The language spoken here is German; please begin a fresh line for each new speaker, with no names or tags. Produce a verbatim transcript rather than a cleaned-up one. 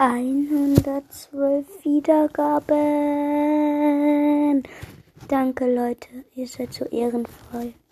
hundertzwölf Wiedergaben. Danke, Leute. Ihr seid so ehrenvoll.